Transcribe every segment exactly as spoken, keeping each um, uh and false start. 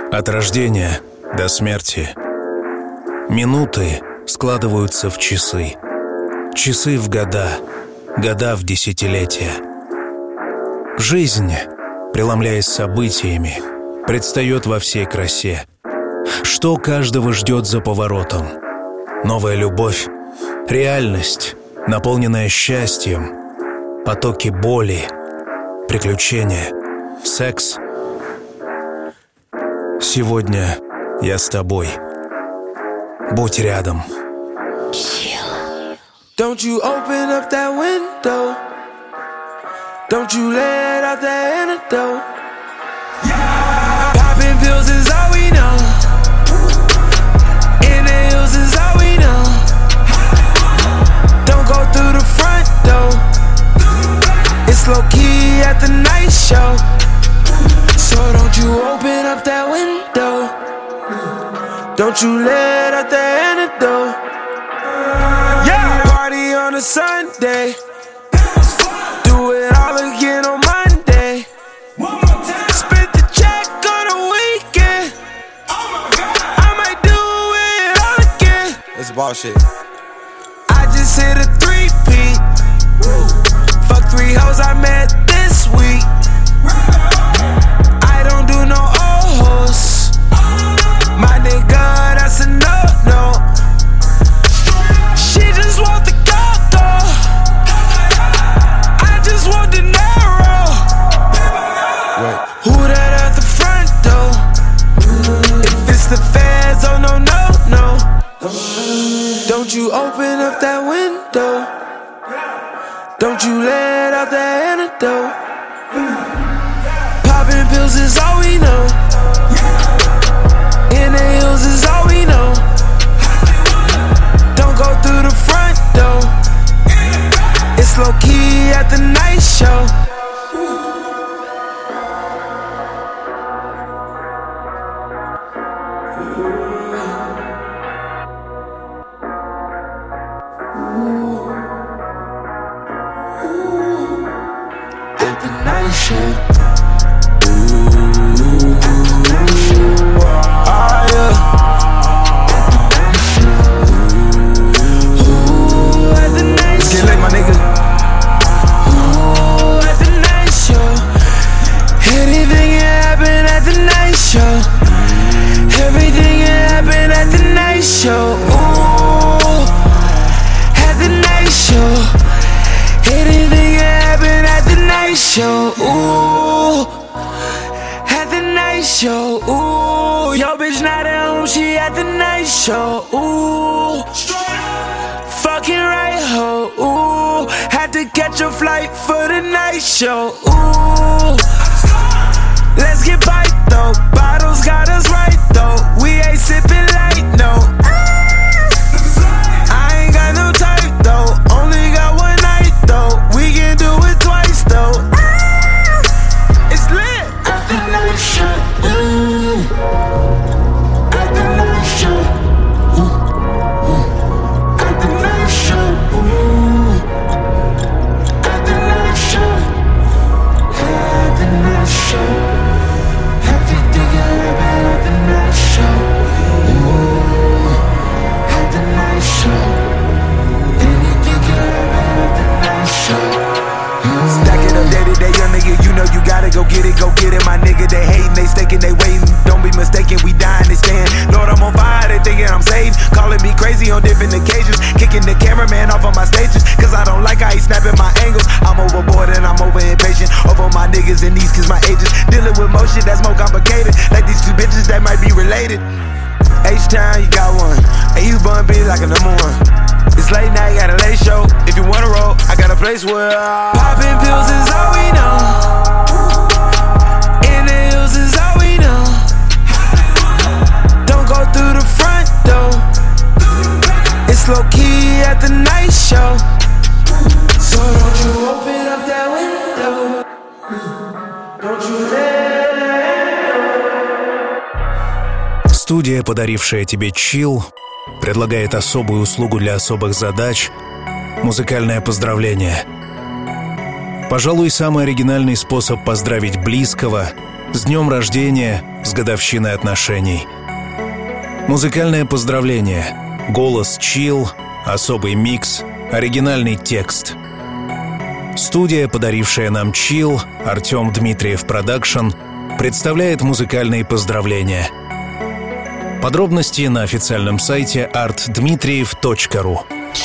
От рождения до смерти минуты складываются в часы, часы в года, года в десятилетия. Жизнь, преломляясь событиями, предстает во всей красе. Что каждого ждет за поворотом? Новая любовь, реальность, наполненная счастьем, потоки боли, приключения, секс. Сегодня я с тобой. Будь рядом. Don't you open up that window. Don't you let out that antidote. Yeah. Popping pills is all we know. Inhales is all we know. Don't go through the front door. It's low key at the night show. So don't you open up that window. Don't you let out the antidote. Yeah. Party on a Sunday. Do it all again on Monday. Split the check on a weekend. I might do it all again. That's bullshit. I just hit a three-peat. Fuck three hoes I met this week. I don't do no old hoes. My nigga, that's a no-no. She just want the go-go. I just want the narrow. Wait. Who that at the front door? If it's the feds, oh no, no, no. Don't you open up that window. Don't you let out the antidote. Popping pills is all we know. Inhales is all we know. Don't go through the front door. It's low key at the night show. At the night show. Everything can happen at the night show. Ooh, at the night show. Anything can happen at the night show. Ooh, at the night show. Ooh, yo bitch not at home, she at the night show. Ooh, fucking right ho. Ooh, had to catch a flight for the night show. Ooh, let's get bite though. Bottles got us right though. We ain't sipping light, no. I ain't got no type though. Only got one night though. We can do it twice though. It's lit at the night show. Ooh. At the night show. Ooh. Ooh. At the night show. Ooh. At the night show. At the night show. You gotta go get it, go get it, my nigga. They hating, they staking, they waiting. Don't be mistaken, we dying, they stand. Lord, I'm on fire, they thinking I'm saved. Calling me crazy on different occasions. Kicking the cameraman off of my stages, cause I don't like how he snapping my angles. I'm overboard and I'm over impatient. Over my niggas and these cause my ages. Dealing with more shit that's more complicated. Like these two bitches that might be related. H-Town, you got one. And you bun be like a number one. It's late night, got a late show. If you wanna roll, I got a place where I... Popping pills is all we know. Inhales is all we know. Don't go through the front door. It's low key at the night show. So don't you open up that window. Don't you let it. Студия, подарившая тебе чилл, предлагает особую услугу для особых задач — музыкальное поздравление. Пожалуй, самый оригинальный способ поздравить близкого С днем рождения, с годовщиной отношений. Музыкальное поздравление. Голос чил, особый микс, оригинальный текст. Студия, подарившая нам чил, Артем Дмитриев Продакшн, представляет музыкальные поздравления. Подробности на официальном сайте арт дмитриев точка ру.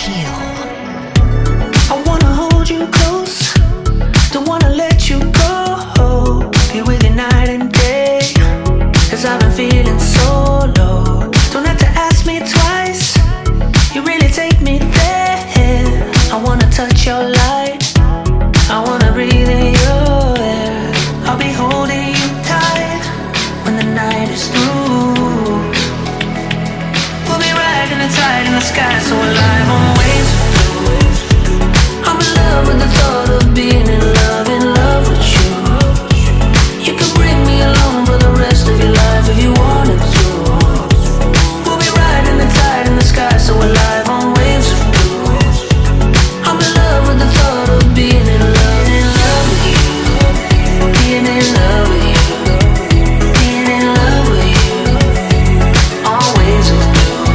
Touch your light, I wanna breathe in your air. I'll be holding you tight when the night is through. We'll be riding the tide in the sky, so alive on waves of blue. I'm in love with the thought of being in love, in love with you. You can bring me along for the rest of your life if you wanted to. We'll be riding the tide in the sky, so alive on waves of blue. I'm in love with the thought of being in love, in love with you. Being in love with you. Being in love with you. Always with you.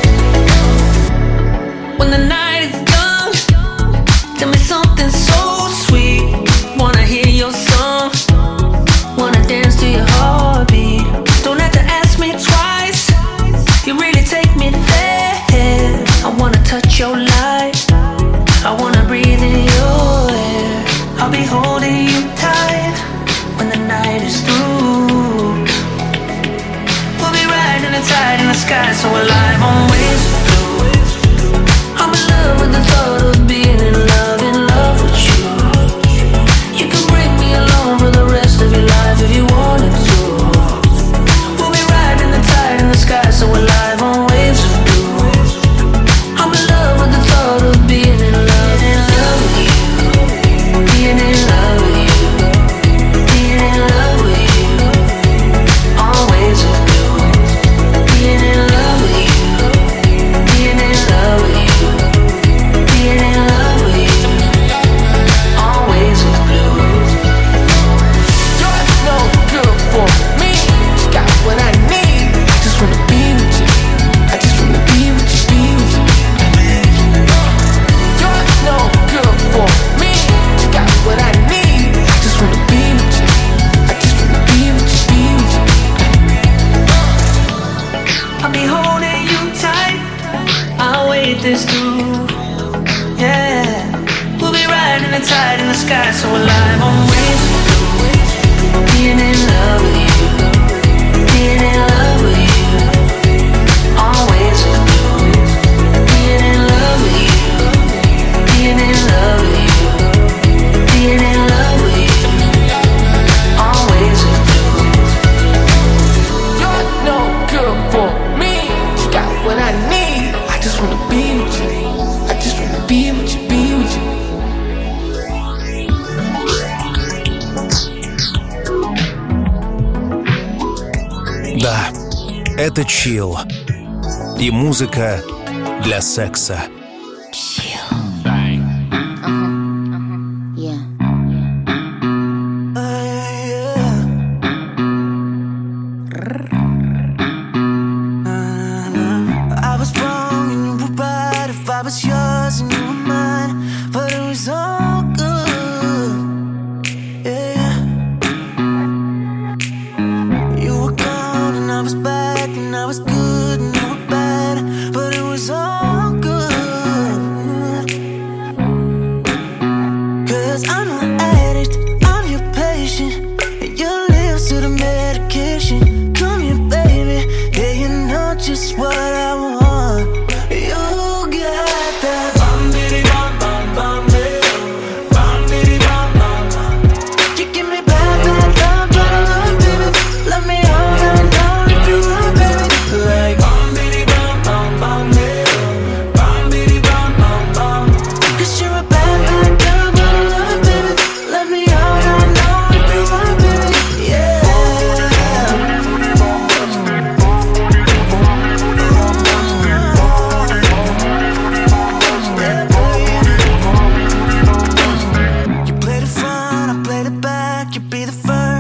When the night is young, tell me something so sweet. Wanna hear your song, wanna dance to your heartbeat. Don't have to ask me twice, you really take me there. I wanna touch your light, I wanna breathe in your air. I'll be holding you tight when the night is through. We'll be riding the tide in the sky, so alive on waves of blue. I'm in love with the thought of being in love, in love with you. You can bring me along for the rest of your life if you wanted to. We'll be riding the tide in the sky, so alive on waves of blue. I'm in love with the thought of being in love, in love with you. Being in love with you. Being in love with you. Always with you. Being in love with you. Being in love with you. Being in love with you. Always with you. You're no good for me. You got what I need. I just wanna be with you. I just wanna be with you, be with you. You're no good for me. You got what I need. I just wanna be with you. I just wanna be with you, be with you. I'll be holding you tight. I'll wait this through. Yeah, we'll be riding the tide in the sky, so alive on waves of blue. Being in love with you. Being in love with you. Always with you. Being in love with you. Being in love with you. Being in love with you. Always with you. You're no good for me. You got what I need. I just wanna be with you. I just wanna be with you, be with you. Да, это чил. И музыка для секса. I was wrong and you were right. If I was yours and you were mine, but it was all good. Yeah. You were gone and I was back, and I was good and you were bad, but it was all good.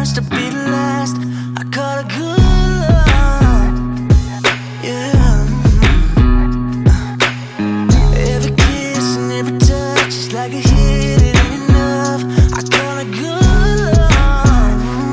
much to be the last. I call it good love. Yeah. Every kiss and every touch is like a hit. It ain't enough. I call it good love.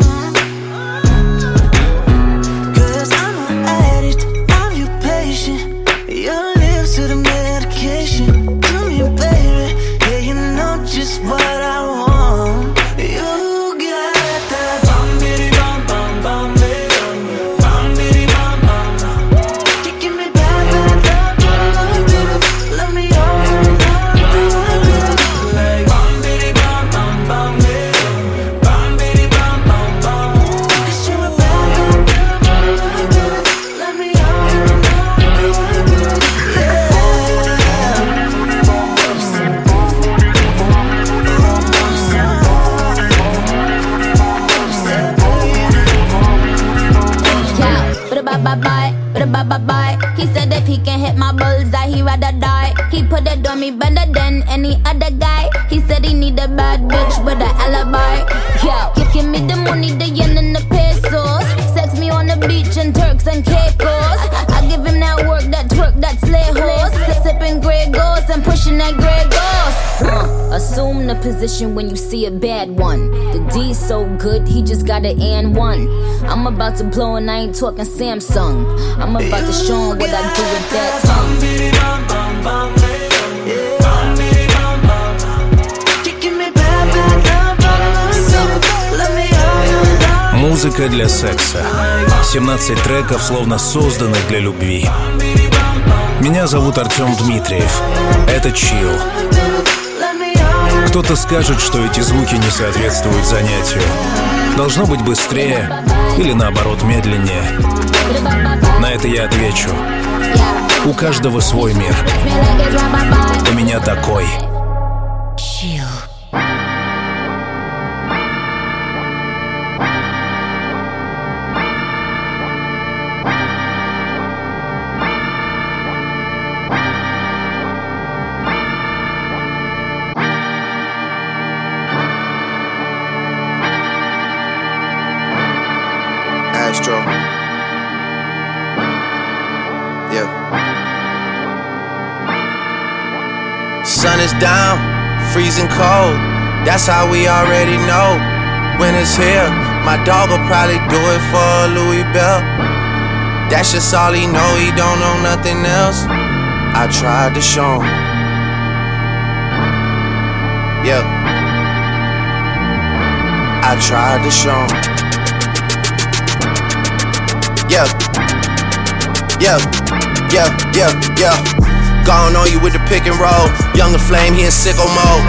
Cause I'm an addict. I'm your patient. Your lips to the medication. Do me, baby. Yeah, you know just what I want. You got that bum bitty bum bum bum bitty bum bitty bum bum bum. You give me that that that that baby. Let me all like bum bitty bum bum bum bitty bum bitty bum bum bum. Cause you a bad that that baby. Let me all bye-bye, bye-bye. He said if he can hit my bullseye, he rather die. He put it on me better than any other guy. He said he need a bad bitch with an alibi. Yeah, give me the money, the yen and the pesos. Sex me on the beach in Turks and Caicos. I give him that work, that twerk, that slay horse. Sipping Grey Goose and pushing that Grey Goose. Uh, assume the position when you see a bad one. The D's so good, he just got an and one. I'm about to blow and I ain't talking Samsung. I'm about to show him what I do with that tongue. Музыка для секса. семнадцать треков, словно созданных для любви. Меня зовут Артем Дмитриев. Это Chill. Кто-то скажет, что эти звуки не соответствуют занятию. Должно быть быстрее или наоборот медленнее. На это я отвечу. У каждого свой мир. У меня такой. Chill. Astro. Yeah. Sun is down, freezing cold. That's how we already know. When it's here, my dog will probably do it for Louis Bell. That's just all he know, he don't know nothing else. I tried to show him. Yeah. I tried to show him. Yeah, yeah, yeah, yeah, yeah. Gone on you with the pick and roll. Younger flame, he in sicko mode.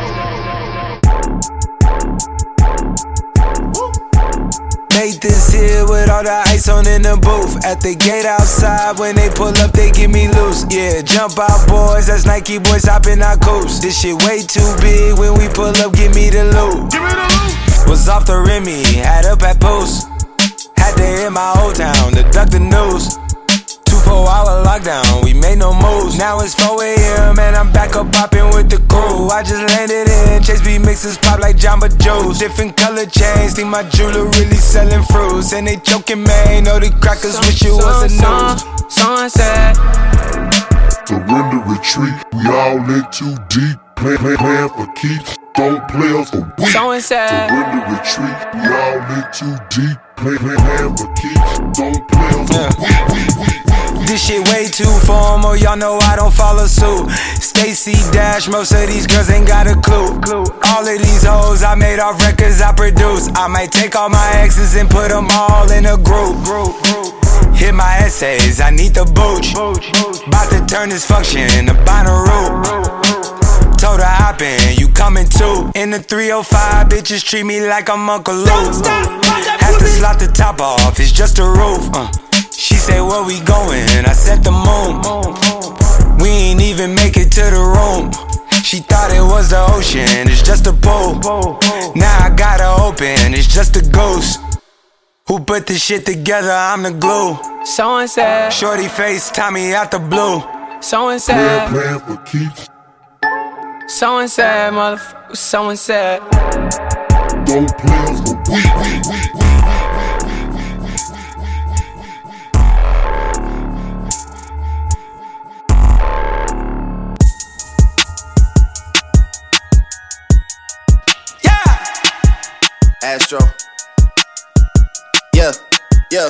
Made this here with all the ice on in the booth. At the gate outside, when they pull up, they give me loose. Yeah, jump out boys, that's Nike boys hopping our coast. This shit way too big, when we pull up, give me the loot. Was off the Remy, had up at post. Had to hit my old town to duck the news. Two four hour lockdown, we made no moves. Now it's four a.m. and I'm back up popping with the crew. I just landed in, Chase B mixes pop like Jamba Joe's. Different color chains, think my jeweler really selling fruits. And they joking, man, know the crackers wish it was a news. Sunset. Surrender, retreat, we all in too deep. Plan, plan, plan for keeps, don't play us a week. Surrender, retreat, we all in too deep. Play, play, plan for keeps, don't play us a week. This shit way too formal, y'all know I don't follow suit. Stacy Dash, most of these girls ain't got a clue. All of these hoes I made off records I produce. I might take all my exes and put them all in a group. Hit my essays, I need the booch. About to turn this function into Bonnaroo. Told her hop in, you coming too. In the three oh five, bitches treat me like I'm Uncle Luke. Have to slot the top off, it's just a roof. uh. She said, where we going? I said the moon. We ain't even make it to the room. She thought it was the ocean, it's just a pool. Now I gotta open, it's just a ghost. Who put this shit together? I'm the glue. So and said, Shorty face, Tommy out the blue. So and said, Plan, plan for keeps. so and said, motherfucker, so and said. don't play us, but we, we, we, we. Astro. Yeah, yeah.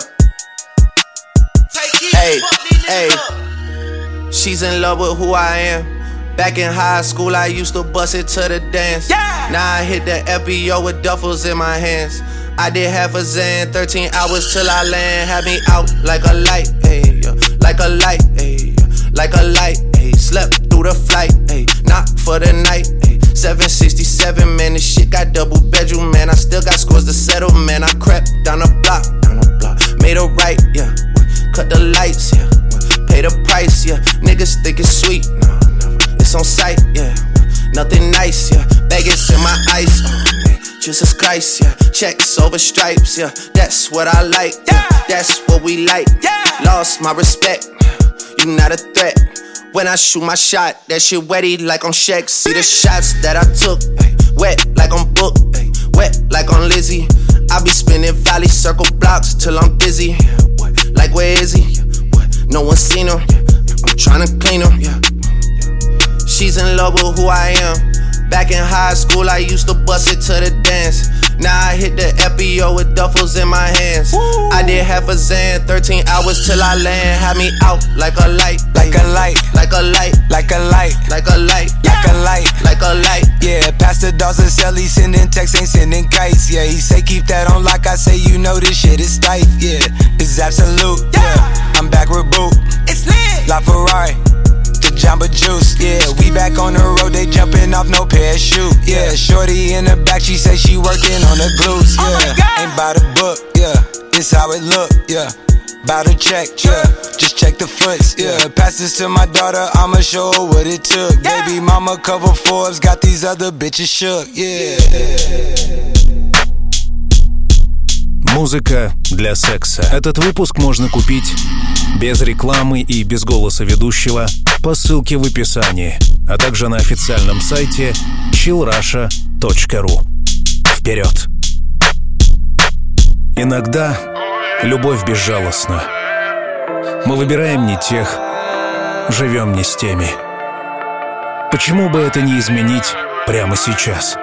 Hey, hey. She's in love with who I am. Back in high school, I used to bust it to the dance. Yeah. Now I hit the F B O with duffels in my hands. I did half a Zan, thirteen hours till I land. Had me out like a light, ayy, yeah. Like a light, ayy, yeah. Like a light, ayy. Slept through the flight, ayy. Not for the night, ayy. seven sixty-seven, man, this shit got double bedroom, man. I still got scores to settle, man. I crept down the block, down the block. Made a right, yeah. Cut the lights, yeah. Pay the price, yeah. Niggas think it's sweet, no, never. It's on sight, yeah. Nothing nice, yeah. Vegas in my ice, oh, man. Jesus Christ, yeah. Checks over stripes, yeah. That's what I like, yeah. That's what we like, yeah. Lost my respect, you not a threat. When I shoot my shot, that shit wetty like on Shaq. See the shots that I took, ay, wet like on Book, ay, wet like on Lizzie. I be spinning valley circle blocks till I'm dizzy. Yeah, what? Like where is he? Yeah, what? No one seen him. Yeah, I'm tryna clean him. Yeah, yeah. She's in love with who I am. Back in high school, I used to bust it to the dance. Now I hit the F B O with duffels in my hands. Woo. I did half a Zan, thirteen hours till I land. Had me out like a light, like a light, like a light, like a light, like a light, like a light, like a light. Yeah, Pastor Dawson Sell, he sending texts, ain't sending kites. Yeah, he say keep that on lock. I say you know this shit is tight. Yeah, it's absolute. Yeah, I'm back with Boot. It's lit. La Ferrari. Jamba Juice, yeah, we back on the road, they jumping off no parachute, yeah, shorty in the back, she say she working on the glutes, yeah, ain't by the book, yeah, it's how it look, yeah, bout to check, yeah, just check the foots, yeah, pass this to my daughter, I'ma show her what it took, baby mama cover Forbes, got these other bitches shook, yeah. Музыка для секса. Этот выпуск можно купить без рекламы и без голоса ведущего по ссылке в описании, а также на официальном сайте чилл раша точка ру. Вперед! Иногда любовь безжалостна. Мы выбираем не тех, живем не с теми. Почему бы это не изменить прямо сейчас?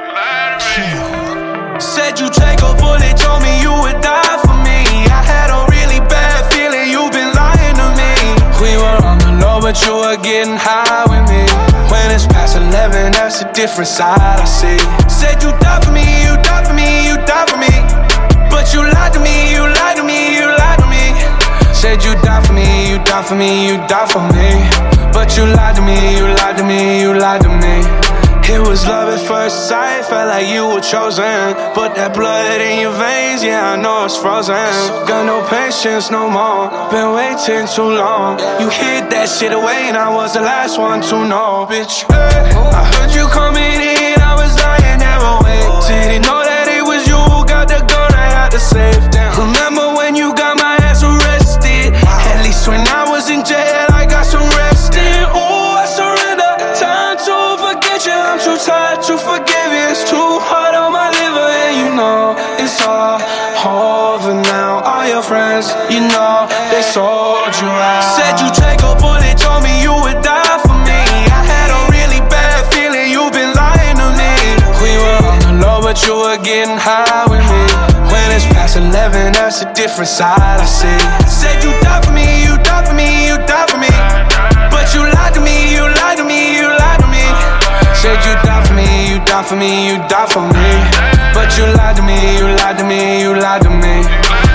Said you take a bullet, told me you would die for me. I had a really bad feeling, you've been lying to me. We were on the low, but you were getting high with me. When it's past eleven, that's a different side I see. Said you died for me, you died for me, you died for me. But you lied to me, you lied to me, you lied to me. Said you died for me, you died for me, you died for me. But you lied to me, you lied to me, you lied to me. It was love at first sight, felt like you were chosen. Put that blood in your veins, yeah, I know it's frozen. Got no patience no more, been waiting too long. You hid that shit away and I was the last one to know, bitch. I heard you coming in, I was lying never wait. Didn't know that it was you who got the gun right out the safe. Remember when you got my ass arrested? At least when I was in jail, I got some rest in. Ooh, I surrender, time to forget you. I'm too tired to forgive you. It's too hard on my liver, and you know it's all over now. All your friends, you know, they sold you out. Said you take a bullet, told me you would die for me. I had a really bad feeling, you've been lying to me. We were on the low, but you were getting high with me. When it's past eleven, that's a different side I see. Said you died for me, you died for me, you died for me. But you lied to me, you lied to me, you lied to me. Said you died for me, you died for me, you died for me. But you lied to me, you lied to me, you lied to me.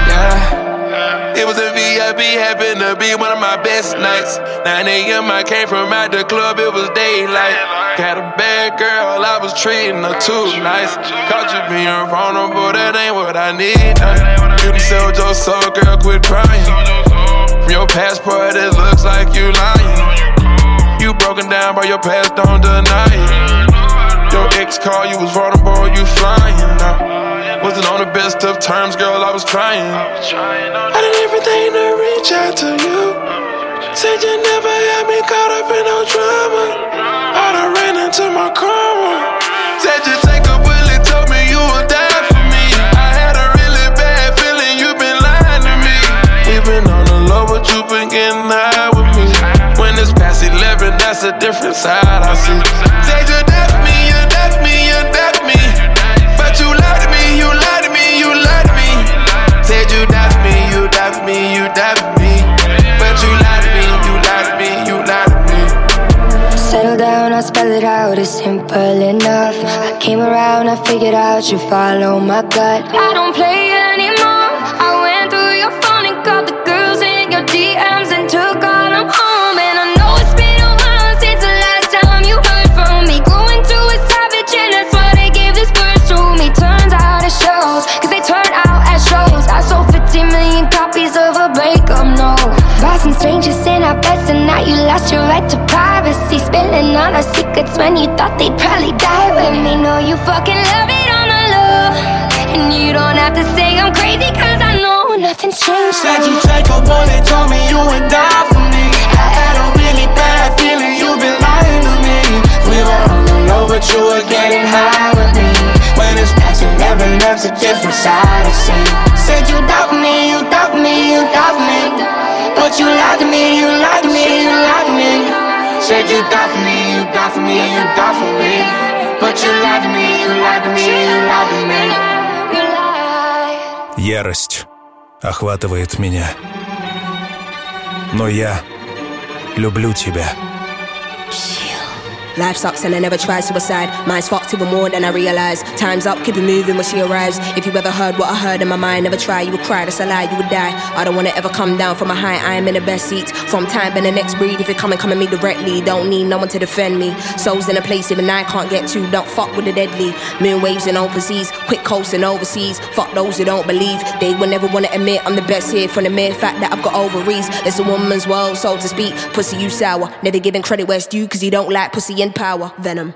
Yeah. It was a V I P, happened to be one of my best nights. nine a.m. I came from out the club, it was daylight. Got a bad girl, I was treating her too nice. Caught you being vulnerable, that ain't what I need. You sold your soul, girl, quit crying. From your passport, it looks like you lying. You broken down by your past, don't deny it. Your ex called, you was vulnerable, you flying. Now, wasn't on the best of terms, girl, I was trying. I did everything to reach out to you. Said you never had me caught up in no drama. I done ran into my karma. Said you take a bullet, told me you would die for different side I see. Said you left me, you left me, you left me. But you lied to me, you lied to me, you lied to me. Said you left me, you left me, you left me. But you lied to me, you lied to me, you lied to me. Settle down, I'll spell it out, it's simple enough. I came around, I figured out you follow my gut. I don't play anymore. I went through your phone and called the girls in your D Ms and took all them home. And I know it's been a while since the last time you heard from me. Grew into a savage and that's why they gave this verse to me. Turns out it shows, cause they turn out as shows. I sold fifty million copies of a breakup, no. Bought some strangers in our beds and now you lost your right to privacy. Spilling all our secrets when you thought they'd probably die with me. No, you fucking love it on the low. And you don't have to say I'm crazy cause I know nothing's changed. Said you take a bullet, told me you would die for me. I had a really bad feeling you've been lying to me. We were on the low but you were getting high with me. When it's past you never love's a different side of scene. Said you doubt me, you doubt me, you doubt me. But you lied to me, you lied to me, you lied to me. Said you doubt me, you doubt me, you doubt me. But you lied to me, you lied to me, you lied to me. Ярость охватывает меня. Но я люблю тебя. Life sucks and I never tried suicide. Mine's fucked even more than I realized. Time's up, keep it moving when she arrives. If you ever heard what I heard in my mind, never try, you would cry, that's a lie, you would die. I don't wanna ever come down from a high, I am in the best seats. From time and the next breed, if you come and come at me directly, don't need no one to defend me. Souls in a place even I can't get to, don't fuck with the deadly. Moon waves in open seas, quick coasting overseas. Fuck those who don't believe, they will never wanna admit I'm the best here. From the mere fact that I've got ovaries. It's a woman's world, so to speak. Pussy you sour, never giving credit where it's due, cause you don't like pussy and power. Venom.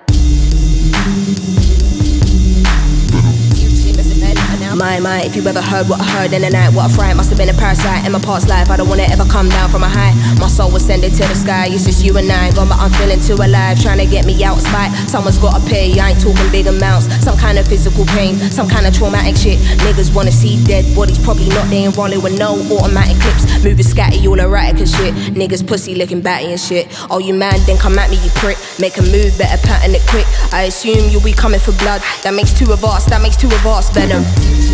My, my, if you ever heard what I heard in the night, what I fright, must have been a parasite in my past life. I don't wanna ever come down from a high. My soul was sending to the sky, it's just you and I. Gone but I'm feeling too alive, trying to get me out of spite. Someone's gotta pay, I ain't talking big amounts. Some kind of physical pain, some kind of traumatic shit. Niggas wanna see dead bodies, probably not, they ain't rolling with no automatic clips. Moving scatty, all erratic and shit. Niggas pussy licking batty and shit. Oh you man, then come at me you prick. Make a move, better pattern it quick. I assume you'll be coming for blood. That makes two of us, that makes two of us. Venom.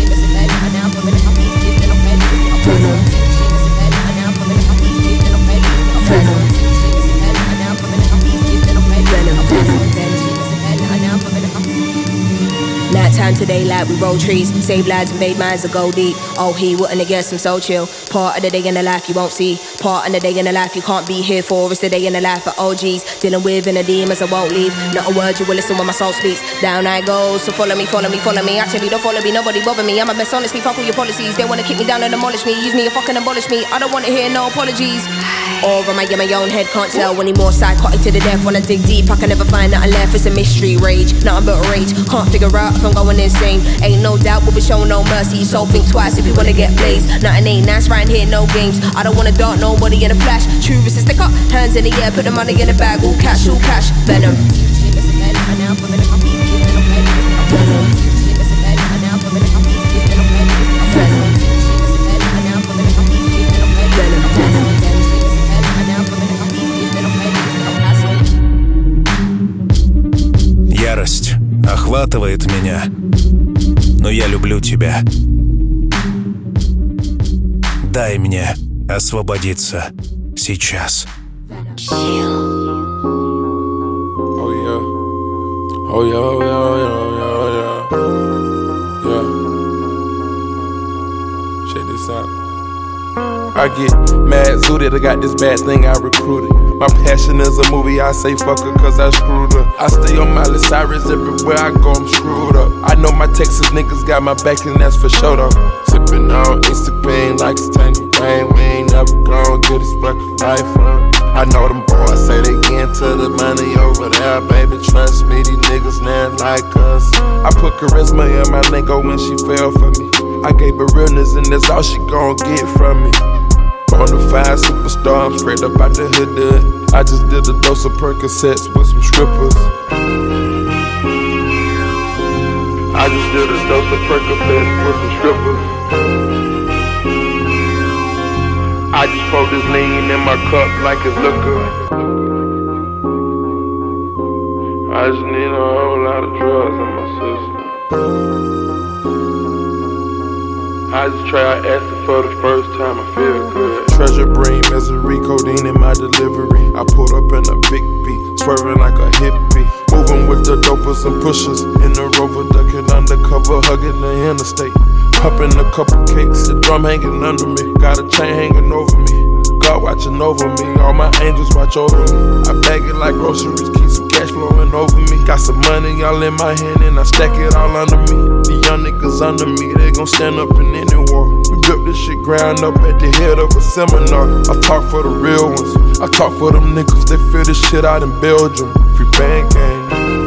Nighttime to daylight, we roll trees, save lives and made minds that go deep. Oh, he wouldn't have guessed I'm so chill. Part of the day in the life you won't see. Part of the day in the life you can't be here for. It's the day in the life of O Gs. Dealing with inner demons I won't leave. Not a word you will listen when my soul speaks. Down I go, so follow me, follow me, follow me. Actually don't follow me, nobody bother me. I'm a mess, honestly, fuck all your policies. They wanna kick me down and demolish me. Use me and fucking abolish me. I don't wanna hear no apologies. Or am I in my own head, can't tell anymore. Psychotic to the death, when I dig deep I can never find nothing left. It's a mystery, rage, nothing but rage. Can't figure out if I'm going insane. Ain't no doubt we'll be showing no mercy. So think twice if you wanna get blazed. Nothing ain't nice right here, no games. I don't wanna dart nobody in a flash. True is to stick up, hands in the air, put the money in the bag. All cash, all cash, venom. Ярость охватывает меня, но я люблю тебя. Дай мне освободиться сейчас. Oh yeah, oh yeah, oh yeah, oh yeah, oh yeah, yeah. Check this out. I get mad zooted, I got this bad thing I recruited. My passion is a movie, I say fuck her cause I screwed up. I stay on Miley Cyrus, everywhere I go I'm screwed up. I know my Texas niggas got my back and that's for sure though. Sippin' on Instagram like it's tangy rain. We ain't never gon' get this fucking life on. I know them boys say they get into the money over there, baby. Trust me, these niggas not like us. I put charisma in my lingo when she fell for me. I gave her realness and that's all she gon' get from me. Bonafide superstar, I'm straight up out the hood. I just did a dose of Percocets with some strippers. I just did a dose of Percocets with some strippers. I just pour this lean in my cup like it's liquor. I just need a whole lot of drugs in my system. I just tried acid for the first time, I feel good. Treasure brain, misery, codeine in my delivery. I pulled up in a big beat, swerving like a hippie. Moving with the dopers and pushers. In the Rover, ducking undercover, hugging the interstate. Popping a couple cakes, the drum hanging under me. Got a chain hanging over me. God watching over me, all my angels watch over me. I bag it like groceries, keep some cash flowing over me. Got some money all in my hand and I stack it all under me. The young niggas under me, they gon' stand up in any war. We built this shit ground up at the head of a seminar. I talk for the real ones, I talk for them niggas, they feel this shit out in Belgium. Free band gang.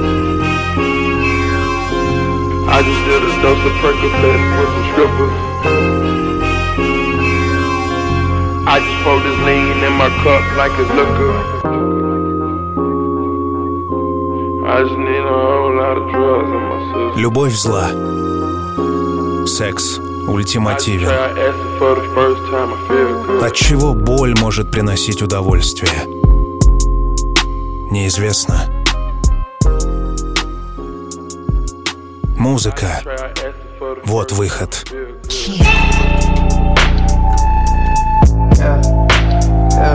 I just did a dose of Percocet with some strippers. I just pour this lean in my cup like it's liquor. I just need a whole lot of drugs in my system. Любовь зла. Секс ультимативен. Отчего боль может приносить удовольствие? Неизвестно. Музыка. Вот выход. Yeah, yeah,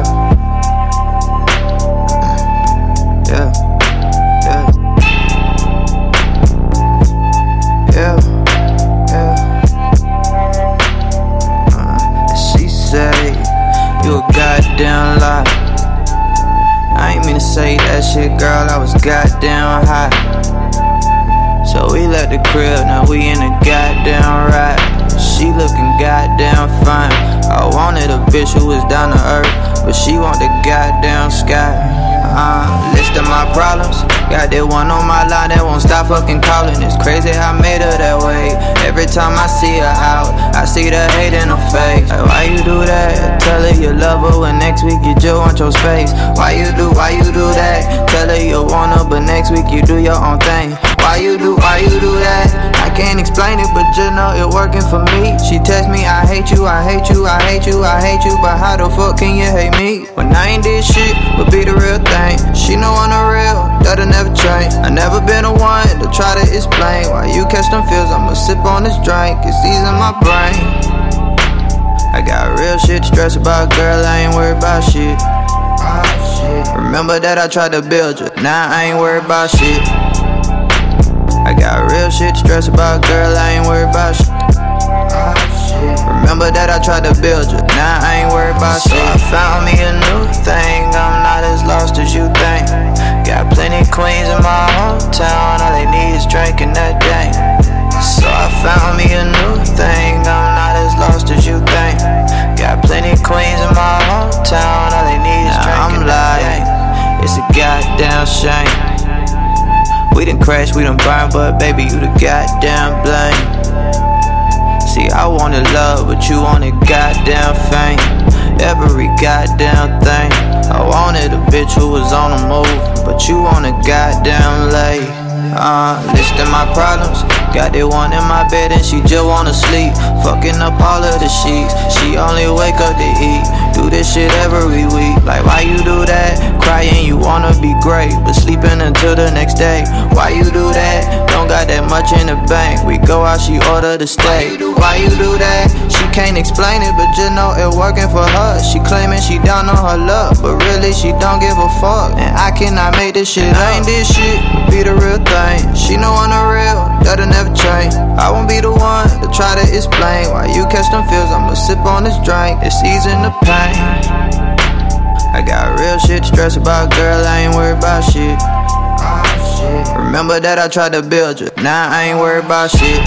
yeah, yeah, yeah, yeah. Uh, she say you a goddamn lie. I ain't mean to say that shit, girl. I was goddamn high. So we left the crib, now we in a goddamn ride. She looking goddamn fine. I wanted a bitch who was down to earth, but she want the goddamn sky. Uh, list of my problems. Got that one on my line that won't stop fucking calling. It's crazy how I made her that way. Every time I see her out, I see the hate in her face. Like, why you do that? Tell her you love her when next week you just want your space. Why you do, why you do that? Tell her you want her, but next week you do your own thing. Why you do, why you do that? I can't explain it, but you know it working for me. She text me, I hate you, I hate you, I hate you, I hate you. But how the fuck can you hate me? When I ain't did shit, but be the real thing. She know I'm the real, that'll never change. I never been the one to try to explain why you catch them feels. I'ma sip on this drink, it's easing my brain. I got real shit to stress about, girl, I ain't worried about shit. Oh, shit. Remember that I tried to build you, now I ain't worried about shit. I got real shit to stress about, girl, I ain't worried about shit. Oh, shit. Remember that I tried to build you, now I ain't worried about so shit. I found me a new thing, I'm not as lost as you think. Got plenty queens in my hometown, all they need is drinking that thing. So I found me a new thing, I'm not as lost as you think. Got plenty queens in my hometown, all they need is drinking that thing. It's a goddamn shame. We done crashed, we done burned, but baby, you the goddamn blame. See, I wanted love, but you wanted goddamn fame. Every goddamn thing. I wanted a bitch who was on the move, but you wanted goddamn lay. Uh, listing my problems. Got that one in my bed and she just wanna sleep. Fucking up all of the sheets. She only wake up to eat. Do this shit every week. Like why you do that? Crying you wanna be great, but sleeping until the next day. Why you do that? Don't got that much in the bank. We go out, she order the steak. Why you do that? She can't explain it, but just know it working for her. She claiming she down on her luck, but really she don't give a fuck. And I cannot make this shit. I ain't this shit, but be the real thing. She know I'm the real, that'll never change. I won't be the one to try to explain why you catch them feels. I'ma sip on this drink, it's easing the pain. I got real shit to stress about, girl, I ain't worried about shit. Oh, shit. Remember that I tried to build you, now I ain't worried about shit.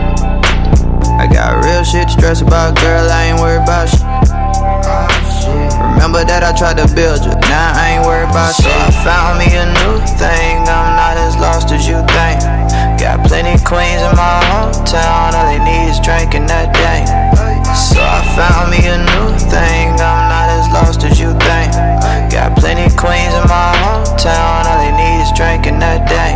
I got real shit to stress about, girl, I ain't worried about shit. Oh, shit. Remember that I tried to build you, now I ain't worried about shit. So I found me a new thing, I'm not as lost as you think. Got plenty queens in my hometown, all they need is drinking that thing. So I found me a new thing, I'm not as lost as you think. Got plenty queens in my hometown, all they need is drinking that thing.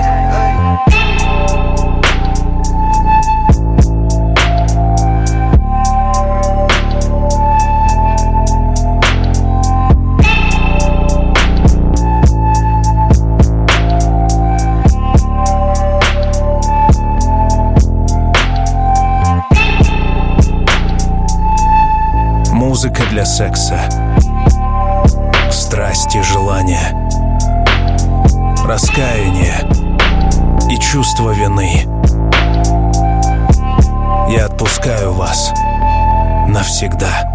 Музыка для секса, страсти, желания, раскаяние и чувство вины. Я отпускаю вас навсегда.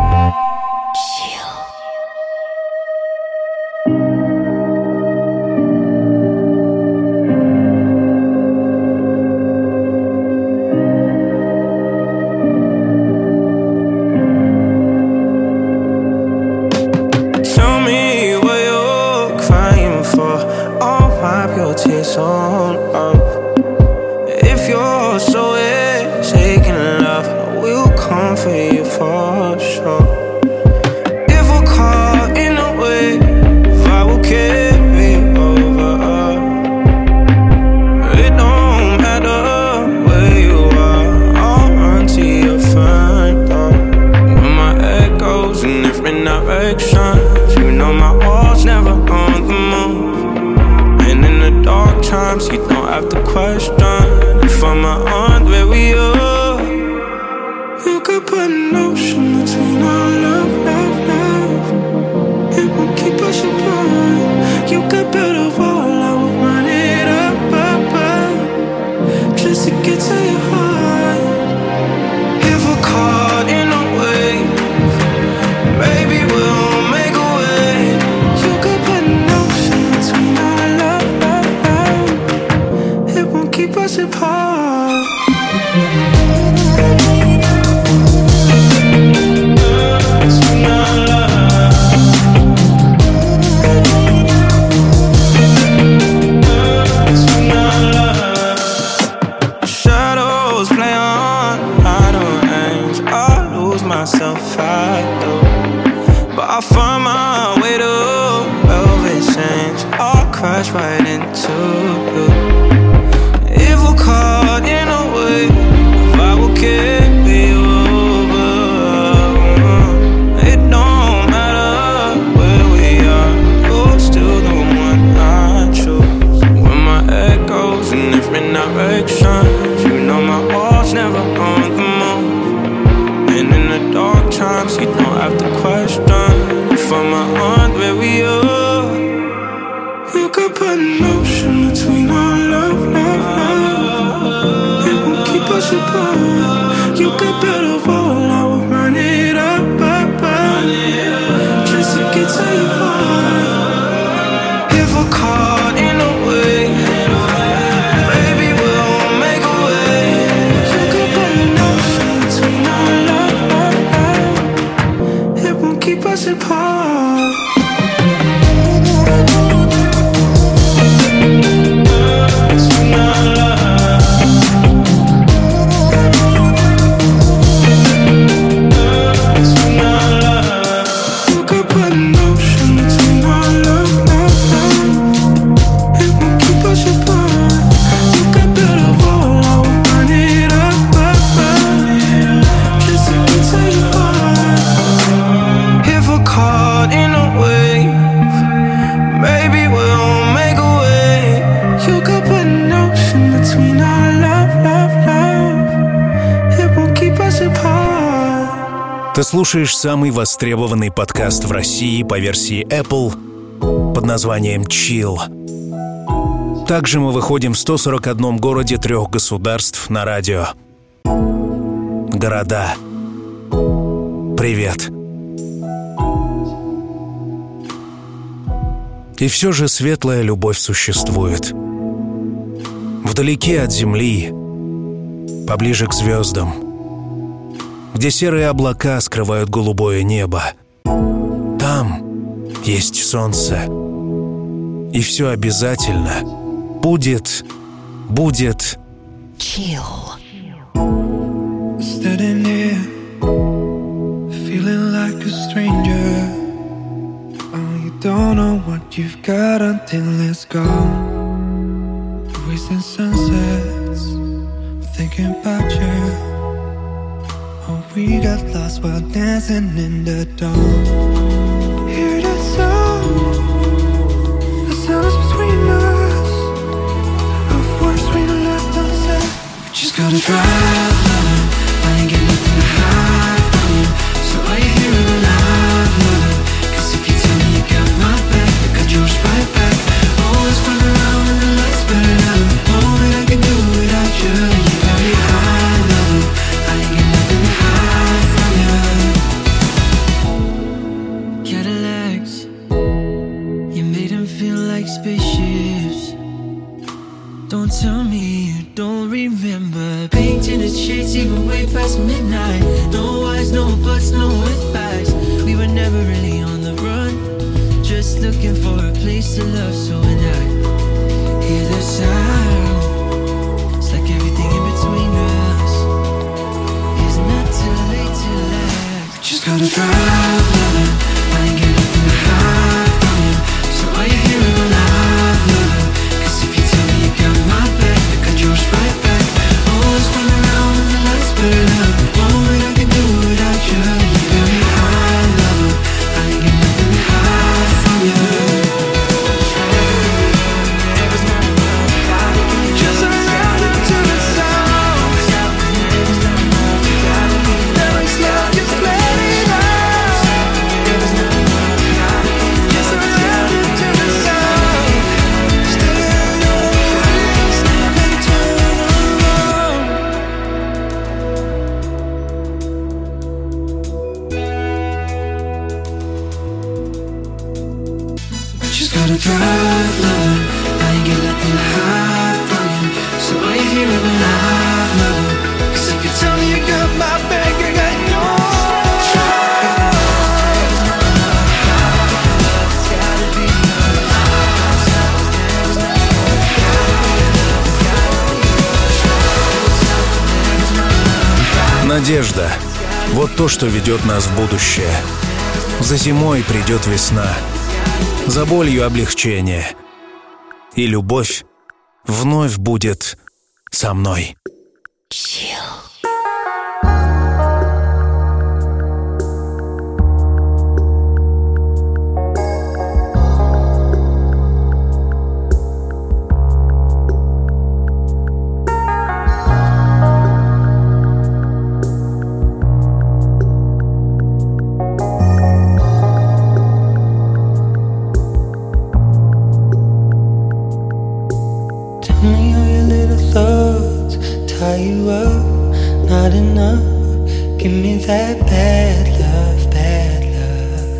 Ты слушаешь самый востребованный подкаст в России по версии Apple под названием Chill. Также мы выходим в ста сорока одном городе трех государств на радио. Города. Привет. И все же светлая любовь существует. Вдалеке от земли, поближе к звездам, где серые облака скрывают голубое небо. Там есть солнце. И все обязательно будет, будет Chill. Standing here, feeling like a stranger. Oh, you don't know what you've got until it's gone. Wasting sunsets, thinking about you. Oh, we got lost while dancing in the dawn. Hear that sound, the sounds between us, of words we left unsaid. We just gotta drive, I ain't getting nothing to hide from you. So all you hear tell me you don't remember painting the streets even way past midnight. No whys, no buts, no advice. We were never really on the run, just looking for a place to love. So when I hear the sound, it's like everything in between us is not too late to laugh. We just gotta drive, loving. I ain't get nothing to hide from you. So are you hearing my live, loving? Cause if you tell me you got my back, I got yours right back. Always run around when the lights burn up. All that I can do without you. You got me high, lover. I ain't get nothing to hide from you. Just around into the sound. Never slow, just let it out. Just around into the sound. Stay on your ways, never turn around. Just gotta drive, loving. I ain't get nothing to hide from you. So are you hearing me live, loving? Cause if you tell me you got my back, I got yours. Надежда — вот то, что ведет нас в будущее. За зимой придет весна, за болью облегчение, и любовь вновь будет со мной. Tell me all your little thoughts, tie you up, not enough. Give me that bad love, bad love.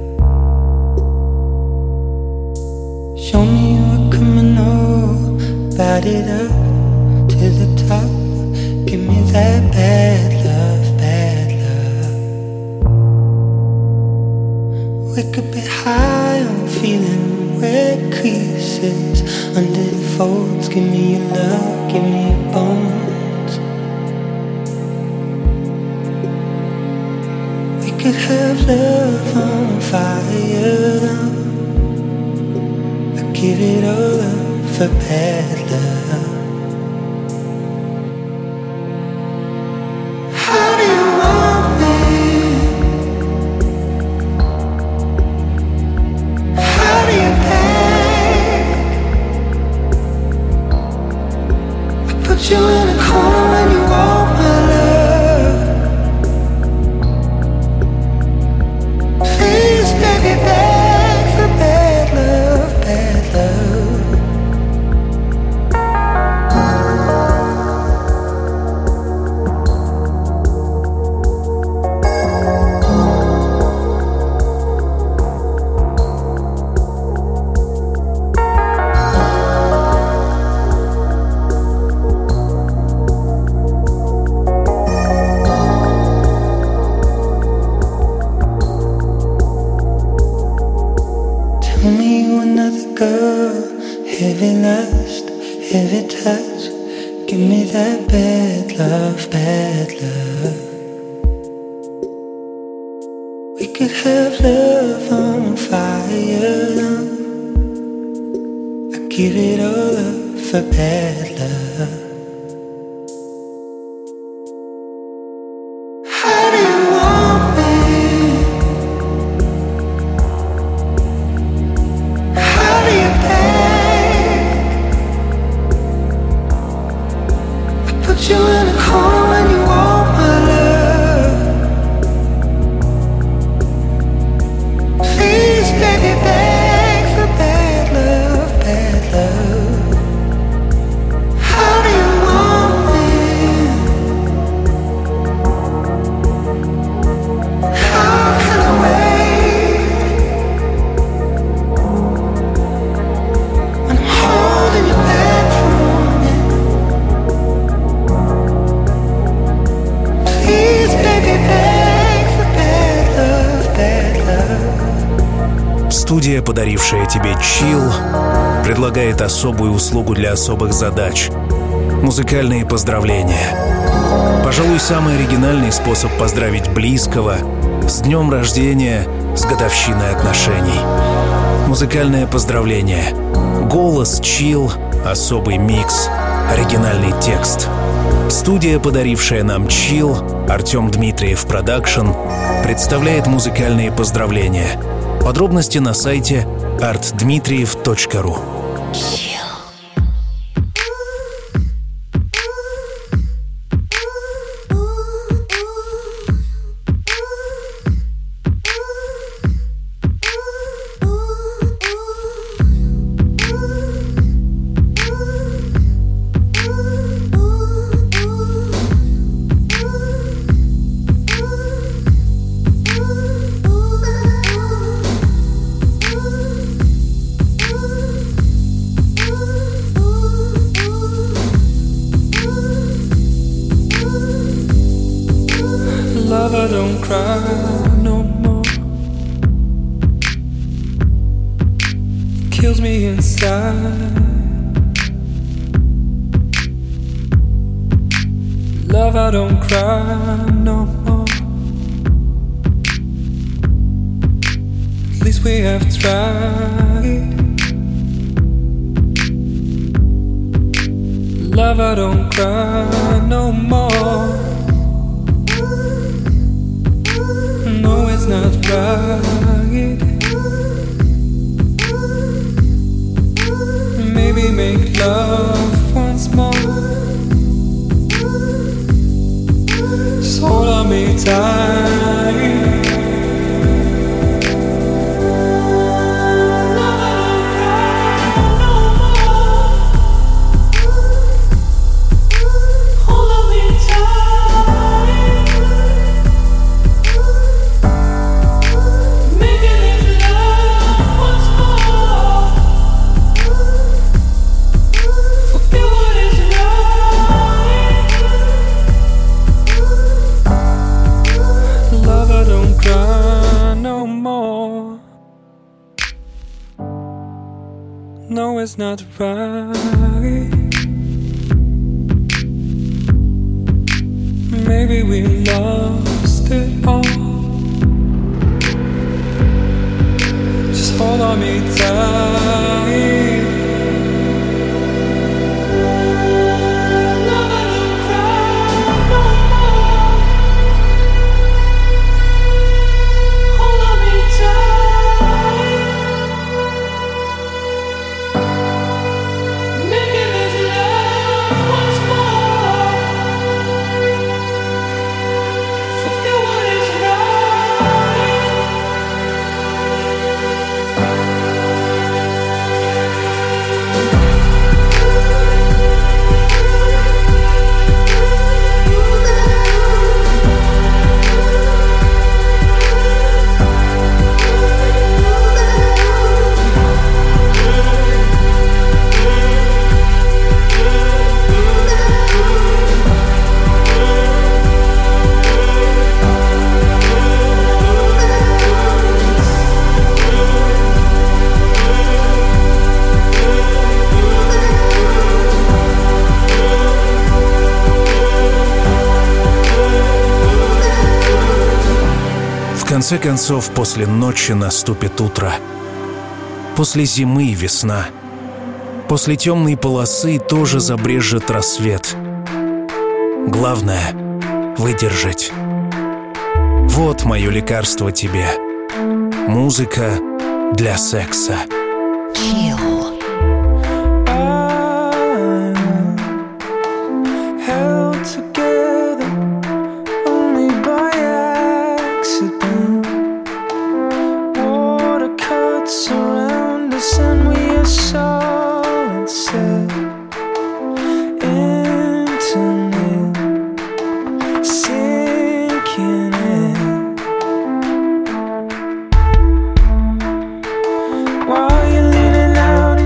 Show me you a criminal, bat it up to the top. Give me that bad love, bad love. We could be high on feeling red creases under the folds. Give me your love, give me your bones. We could have love on fire. I give it all up for bad love. How do you want me? How do you beg? I put you in a corner when you want my love. Please, baby, beg for bad love, bad love. Tell me you another girl, heavy lust, heavy touch. Give me that bad love, bad love. We could have love on fire. I give it all up for bad love. How do you want me? How do you beg? I put you in a corner when you want my love. Please, baby, beg for bad love, bad love. How Студия, подарившая тебе чил, предлагает особую услугу для особых задач — музыкальные поздравления. Пожалуй, самый оригинальный способ поздравить близкого с днем рождения, с годовщиной отношений. Музыкальное поздравление. Голос, чил, особый микс, оригинальный текст. Студия, подарившая нам чил, Артем Дмитриев Продакшн, представляет музыкальные поздравления. Подробности на сайте арт дмитриев точка ру. Lover, don't cry no more. Kills me inside. Lover, don't cry no more. At least we have tried. Lover, don't cry no more. No, it's not right. Maybe make love once more. Just hold on me tight. No, it's not right. Maybe we lost it all. Just hold on me tight. В конце концов, после ночи наступит утро. После зимы весна. После темной полосы тоже забрежет рассвет. Главное — выдержать. Вот мое лекарство тебе. Музыка для секса. Chill. While you're leaning out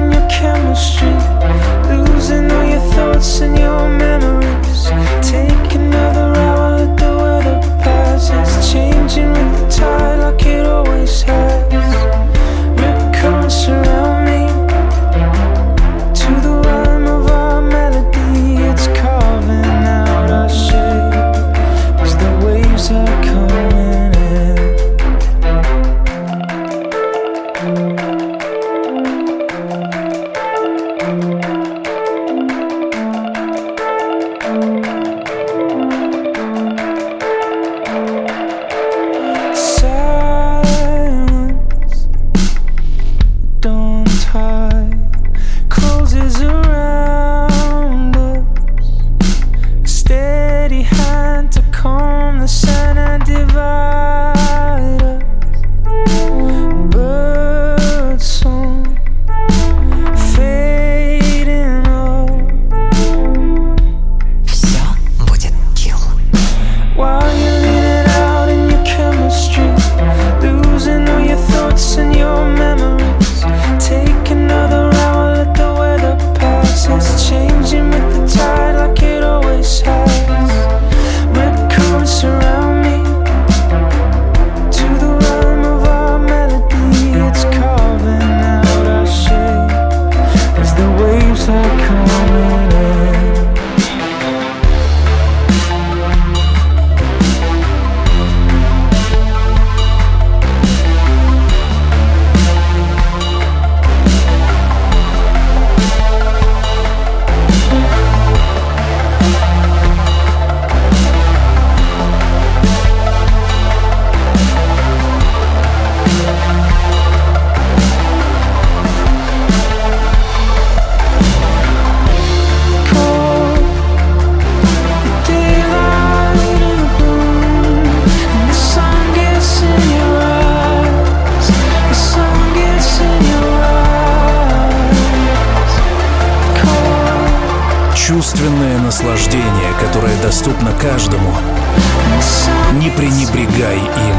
чувственное наслаждение, которое доступно каждому. Не пренебрегай им,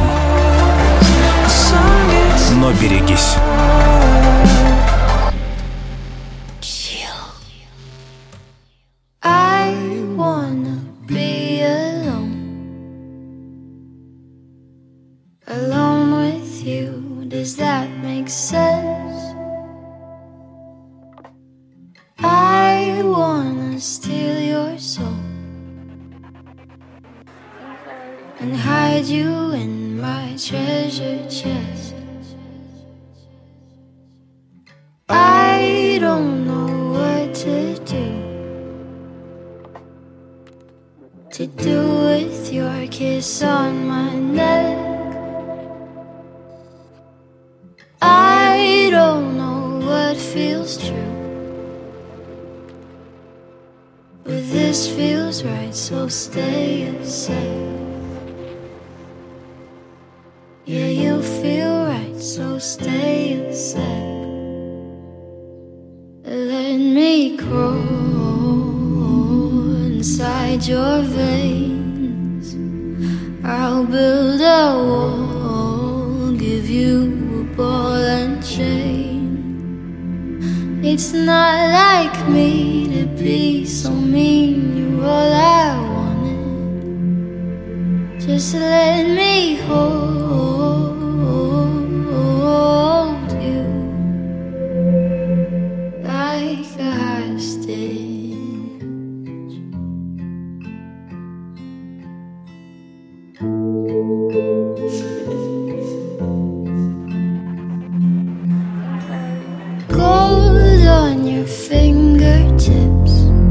но берегись. Does that make sense? I wanna steal your soul and hide you in my treasure chest. I don't know what to do To do with your kiss on my neck. I don't know what feels true, but this feels right, so stay a sec. Yeah, you feel right, so stay a sec. Let me crawl inside your veins. I'll build a wall, give you ball and chain. It's not like me to be so mean. You're all I wanted. Just let me hold you like a hostage. Gold on your fingertips,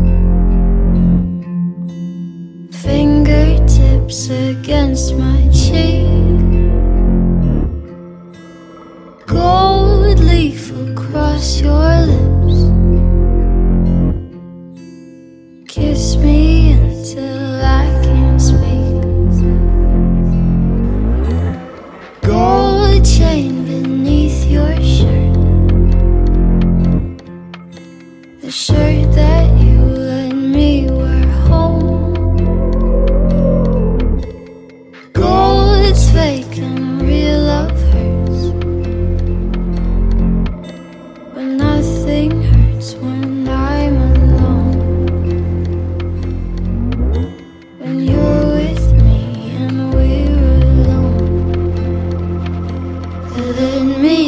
fingertips against my cheek. Gold leaf across your lips. Kiss me until I can't speak. Gold chain beneath your shirt, the shirt that you let me wear home. Gold's fake and real love hurts, but nothing hurts when I'm alone. When you're with me and we're alone, let me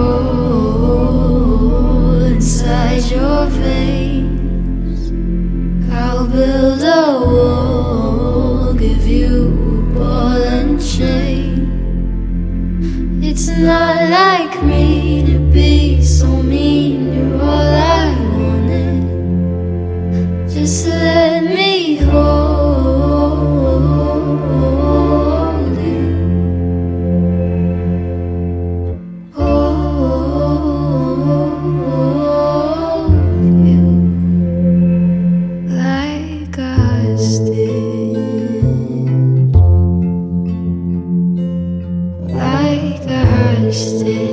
crawl inside your veins. I'll build a wall, give you a ball and chain. It's not like me to be so mean. You're all I wanted. Just let me hold you. Hold you like a hostage, like a hostage.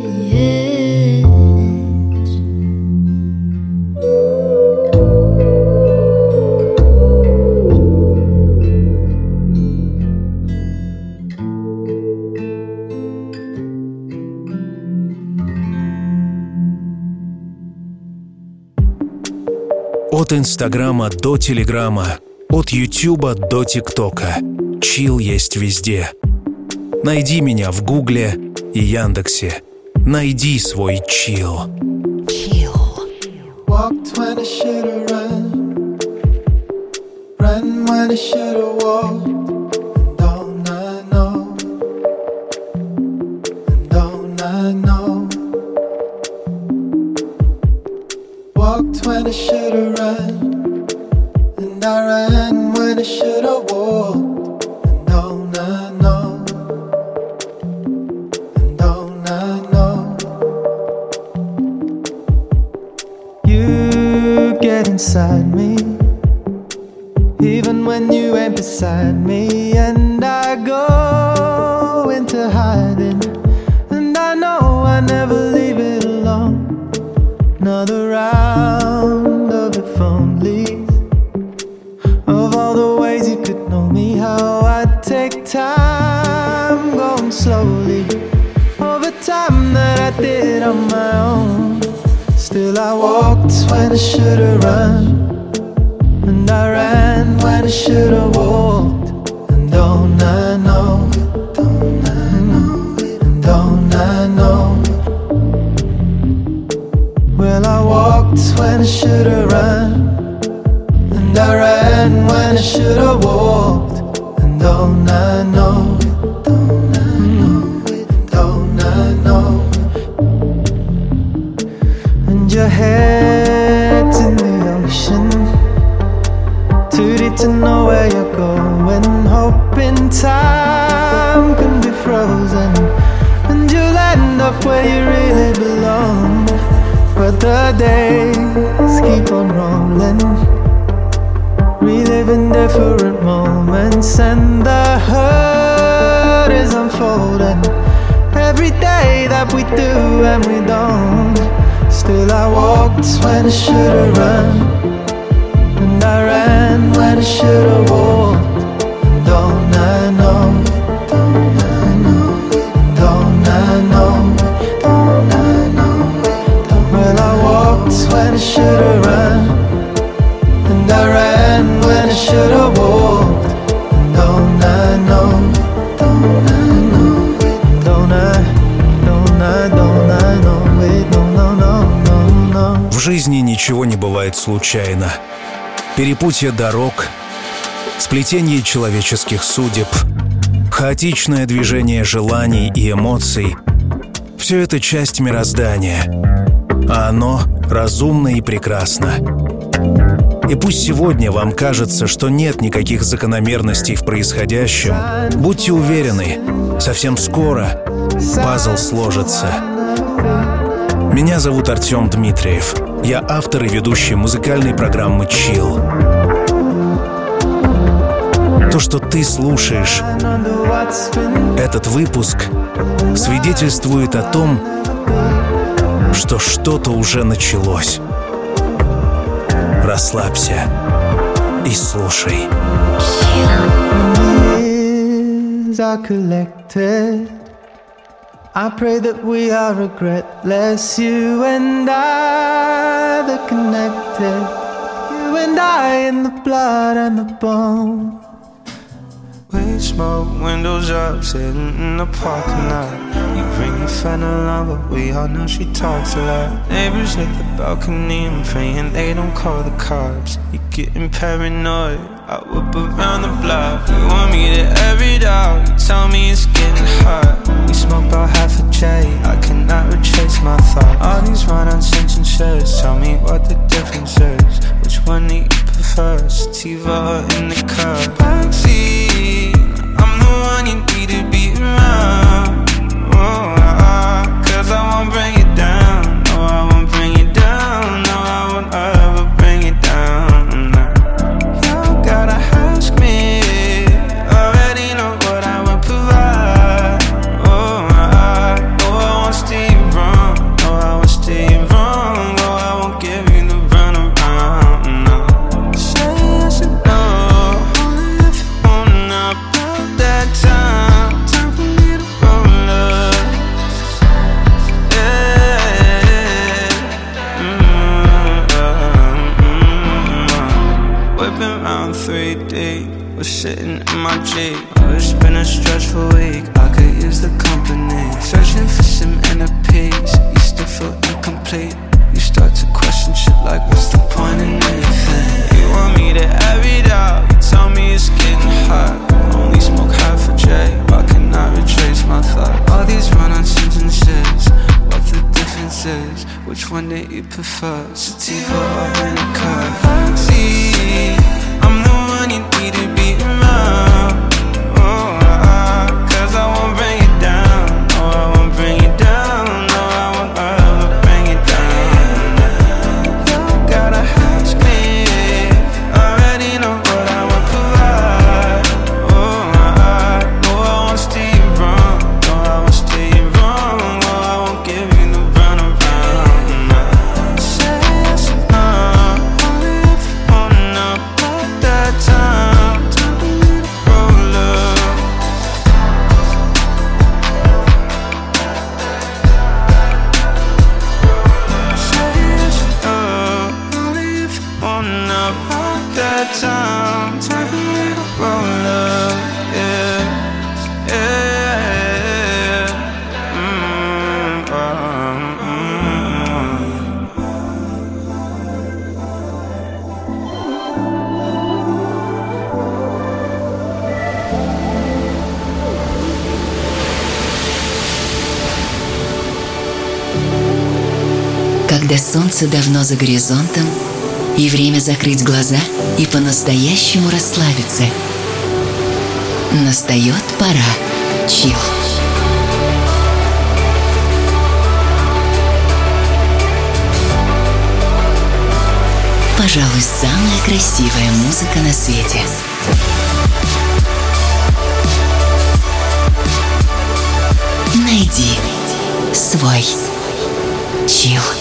От Инстаграма до Телеграма, от Ютуба до ТикТока. Чил есть везде. Найди меня в Гугле и Яндексе. Найди свой чил. Walked when I should've run, run when I should've walked. And don't I know, and don't I know. Walked when I should've run, and I ran when I should've walked. And don't I know, and don't I know. You get inside me, even when you ain't beside me. And I go into hiding, and I know I never leave it alone. Another round of if only, slowly over time that I did on my own. Still I walked when I should've run, and I ran when I should've walked. And don't I know, don't I know, and don't I know. Well, I walked when I should've run, and I ran when I should've walked. And don't I know, don't I know, don't I know. And your head's in the ocean, too deep to know where you're going, hoping time can be frozen and you'll end up where you really belong. But the days keep on rolling, reliving different moments, and the hurt is unfolding every day that we do and we don't. Still I walked when I should've run, and I ran when I should've walked. And don't I know, don't I know, don't I know, don't I know. Well, I walked when I should've run, and I ran when I should've walked. And don't I know, don't I know, don't I, don't I, don't I know, wait, no, no, no, no, no. В жизни ничего не бывает случайно. Перепутье дорог, сплетение человеческих судеб, хаотичное движение желаний и эмоций — все это часть мироздания, а оно разумно и прекрасно. И пусть сегодня вам кажется, что нет никаких закономерностей в происходящем, будьте уверены, совсем скоро пазл сложится. Меня зовут Артем Дмитриев. Я автор и ведущий музыкальной программы «Чилл». То, что ты слушаешь, этот выпуск свидетельствует о том, что что-то уже началось. Расслабься и слушай. I pray that we are regretless, you and I, the connected, you and I in the blood and the bone. We smoke, windows up, sitting in the parking lot. You bring your friend along, but we all know she talks a lot. Neighbors hit the balcony, I'm praying they don't call the cops. You're getting paranoid, I whip around the block. You want me to air it out, you tell me it's getting hot. We smoke about half a J, I cannot retrace my thoughts. All these run-on sentences, tell me what the difference is. Which one do you prefer, sativa or in the car? Backseat, I'm the one you need to be around. Oh, uh, cause I won't bring you down. No, I won't bring you down. No, I won't ever bring you down. No. You gotta ask me, already know what I will provide. Oh, uh, no, I won't steer you wrong. No, I won't steer you wrong. No, I won't give you the runaround. No. Say yes and no, only if you wanna. About that time, time for me to roll up. Whipping round three D, we're sitting in my Jeep. Oh, it's been a stressful week, I could use the company. Searching for some inner peace, you still feel incomplete. You start to question shit like, what's the point in anything? You want me to air it out, you tell me it's getting hot. Only smoke half a J, I cannot retrace my thoughts. All these run-on sentences, what the difference is? Which one do you prefer, sativa or in a car? See, I'm the one you need to be around. Oh, uh, cause I won't bring you down. No, I won't bring you down. No, I won't ever bring you down. You gotta ask me, already know what I will provide. Oh, uh, no, I won't steer you wrong. No, I won't steer you wrong. No, I won't give you the runaround. No. Say yes or no, only когда солнце давно за горизонтом, и время закрыть глаза и по-настоящему расслабиться. Настает пора чилл. Пожалуй, самая красивая музыка на свете. Найди свой чилл.